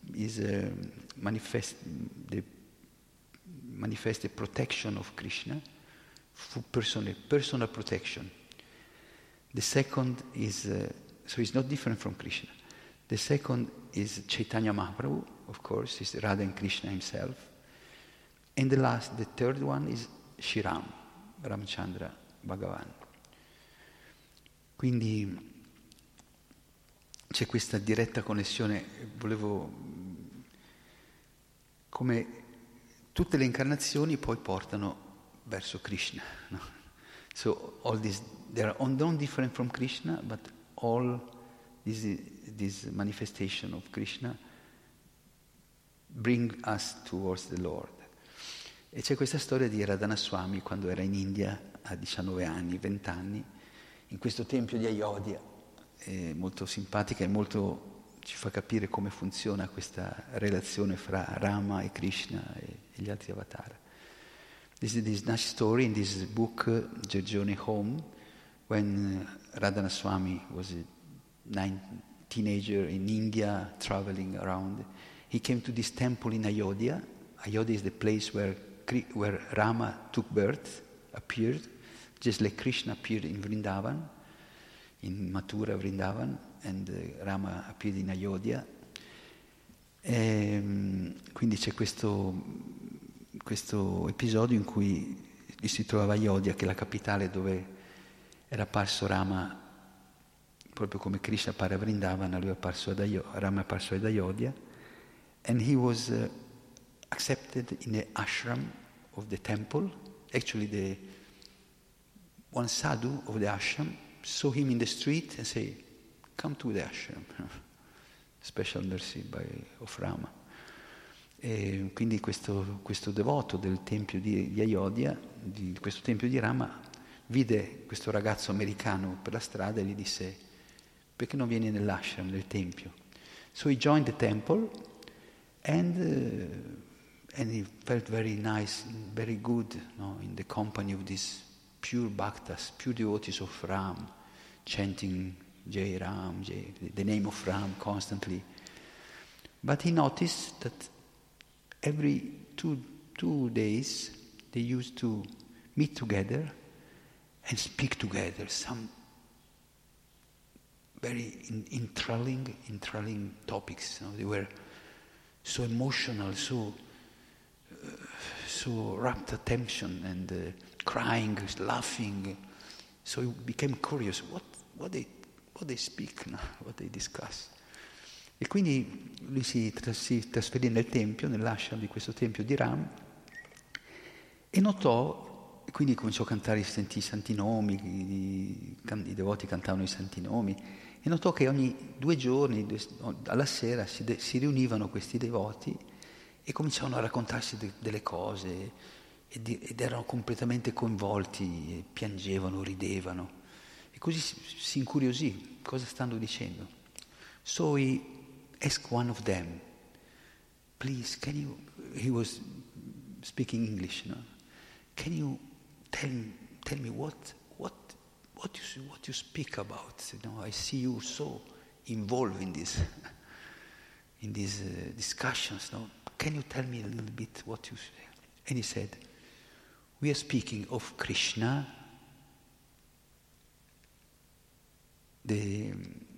Speaker 2: manifested protection of Krishna, personal protection. The second is, so it's not different from Krishna. The second is Chaitanya Mahaprabhu, of course, is Radha and Krishna himself. And the third one is Shriram, Ramchandra Bhagavan. Quindi c'è questa diretta connessione, come tutte le incarnazioni poi portano verso Krishna. No? So all these, they are non different from Krishna, but all this manifestation of Krishna bring us towards the Lord. E c'è questa storia di Radhanaswami quando era in India a 19 anni, 20 anni, in questo tempio di Ayodhya, molto simpatica e molto ci fa capire come funziona questa relazione fra Rama e Krishna e gli altri avatar. This is this nice story in this book, The Journey Home, when Radhanaswami was a teenager in India, traveling around. He came to this temple in Ayodhya. Ayodhya is the place where Rama took birth, appeared, just like Krishna appeared in Vrindavan, in Mathura, Vrindavan, and Rama appeared in Ayodhya. Quindi c'è questo episodio in cui si trovava Ayodhya, che è la capitale dove era apparso Rama, proprio come Krishna appare a Vrindavan, Rama è apparso ad Ayodhya, and he was accepted in the ashram of the temple. Actually, one sadhu of the ashram saw him in the street and said, "Come to the ashram." Special mercy of Rama. E quindi questo devoto del tempio di Ayodhya, di questo tempio di Rama, vide questo ragazzo americano per la strada e gli disse: "Perché non vieni nell'ashram, nel tempio?" So he joined the temple and he felt very nice, very good, no, in the company of these pure bhaktas, pure devotees of Ram, chanting Jai Ram, the name of Ram constantly. But he noticed that every two days they used to meet together and speak together some very enthralling topics. You know? They were so emotional, so rapt attention, and crying, laughing. So he became curious. What they speak, no? What they discuss. E quindi lui si trasferì nel tempio, nell'ashram di questo tempio di Ram, e notò, quindi cominciò a cantare i santi nomi, i devoti cantavano i santi nomi, e notò che ogni 2 giorni, alla sera, si riunivano questi devoti e cominciavano a raccontarsi delle cose, ed erano completamente coinvolti, piangevano, ridevano, e così si incuriosì, cosa stanno dicendo. So he asked one of them, "Please, he was speaking English, no? Can you tell me what you speak about? You know, I see you so involved in these discussions, no? Can you tell me a little bit what you say?" And he said, "We are speaking of Krishna, the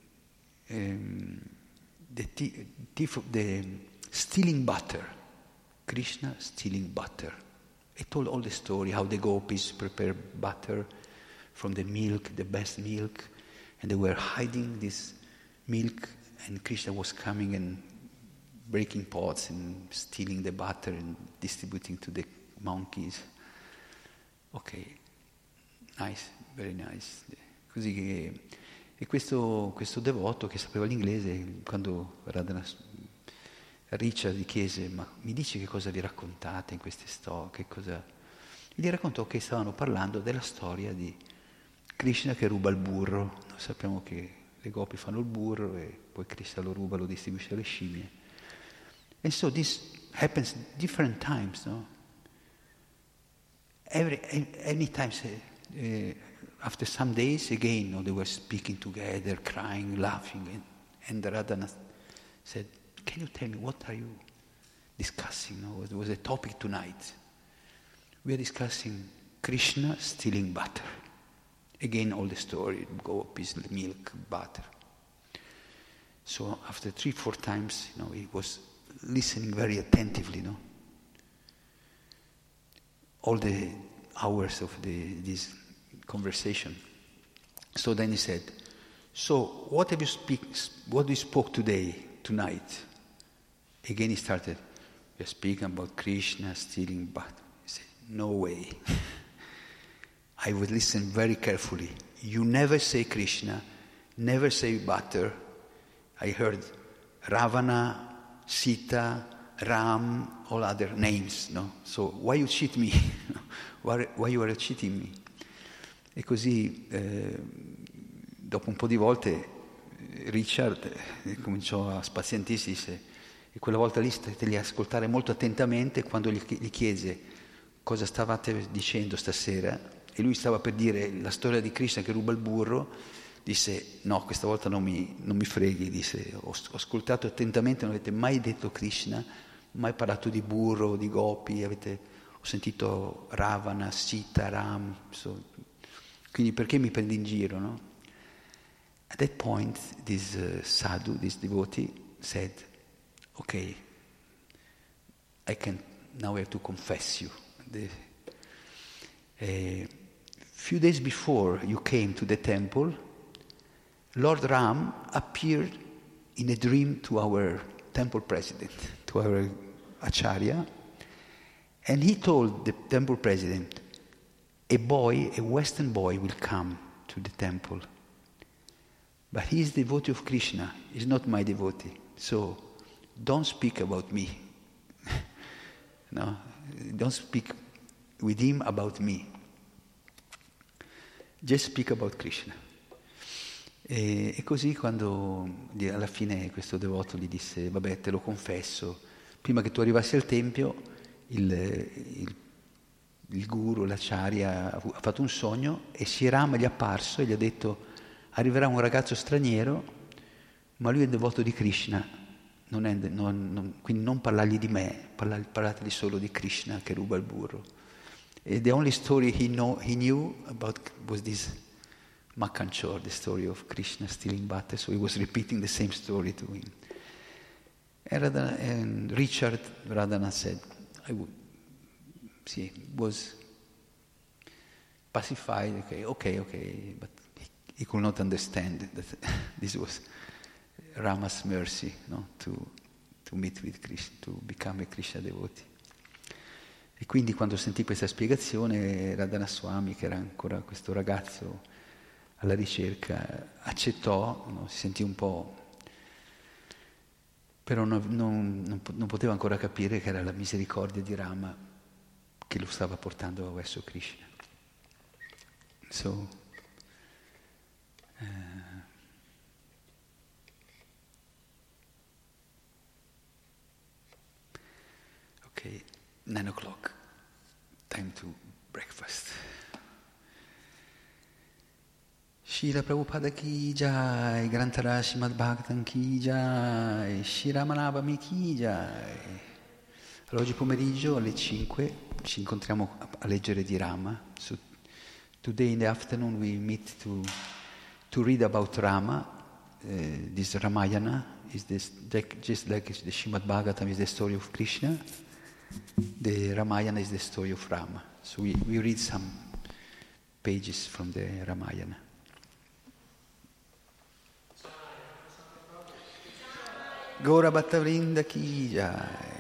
Speaker 2: stealing butter, Krishna stealing butter." He told all the story, how the gopis prepare butter from the milk, the best milk, and they were hiding this milk, and Krishna was coming and breaking pots and stealing the butter and distributing to the monkeys. Ok, nice, very nice. Così che, e questo devoto che sapeva l'inglese, quando Richard gli chiese: ma mi dici che cosa vi raccontate in queste storie? Che cosa? E gli raccontò che stavano parlando della storia di Krishna che ruba il burro. Noi sappiamo che le gopi fanno il burro e poi Krishna lo ruba, lo distribuisce alle scimmie. And so this happens different times, no? Any times, after some days again, no, they were speaking together, crying, laughing, and Radhana said, "Can you tell me what are you discussing? No? What was the topic tonight?" We are discussing Krishna stealing butter. Again, all the story, gopis, milk, butter. So after 3-4 times, he was listening very attentively, all the hours of this conversation. So then he said, "So what do you spoke tonight?" Again he started, "We are speaking about Krishna stealing butter." He said, "No way." I would listen very carefully. You never say Krishna, never say butter. I heard Ravana, Sita, Ram, all other names, no? So why you cheat me? Why you are cheating me? E così, dopo un po' di volte, Richard cominciò a spazientirsi, disse, e quella volta lì state a ascoltare molto attentamente. Quando gli chiese cosa stavate dicendo stasera, e lui stava per dire la storia di Krishna che ruba il burro, disse: "No, questa volta non mi freghi", disse, ho ascoltato attentamente, non avete mai detto Krishna, mai parlato di burro, di gopi, ho sentito Ravana, Sita, Ram, quindi perché mi prendi in giro, no? At that point, this sadhu, this devotee, said, "Okay, now I have to confess you. Few days before you came to the temple, Lord Ram appeared in a dream to our temple president, to our Acharya, and he told the temple president, a Western boy will come to the temple, but he is devotee of Krishna, he is not my devotee, so don't speak about me. No, don't speak with him about me. Just speak about Krishna." E così quando alla fine questo devoto gli disse: "Vabbè, te lo confesso, prima che tu arrivassi al tempio il guru, l'acharya, ha fatto un sogno e Sri Rama gli è apparso e gli ha detto: arriverà un ragazzo straniero, ma lui è devoto di Krishna, quindi non parlargli di me, parlategli solo di Krishna che ruba il burro." And the only story he knew about was this Makkanchor, the story of Krishna stealing butter, so he was repeating the same story to him. And Richard Radhana said, was pacified, okay, but he could not understand that this was Rama's mercy, to meet with Krishna, to become a Krishna devotee. E quindi quando sentì questa spiegazione, Radhana Swami, che era ancora questo ragazzo alla ricerca, accettò, si sentì un po', però non poteva ancora capire che era la misericordia di Rama che lo stava portando verso Krishna. So, okay. 9 o'clock, time to breakfast. Srila Prabhupada ki jai, Grantara Srimad Bhagavatam ki jai, Shri Ramanavami ki jai. Allora, oggi pomeriggio alle 5 ci incontriamo a leggere di Rama. So, today in the afternoon we meet to read about Rama. This Ramayana is just like the Srimad Bhagavatam is the story of Krishna. The Ramayana is the story of Rama. So we read some pages from the Ramayana. Gaura Bhatta Vrinda ki jai.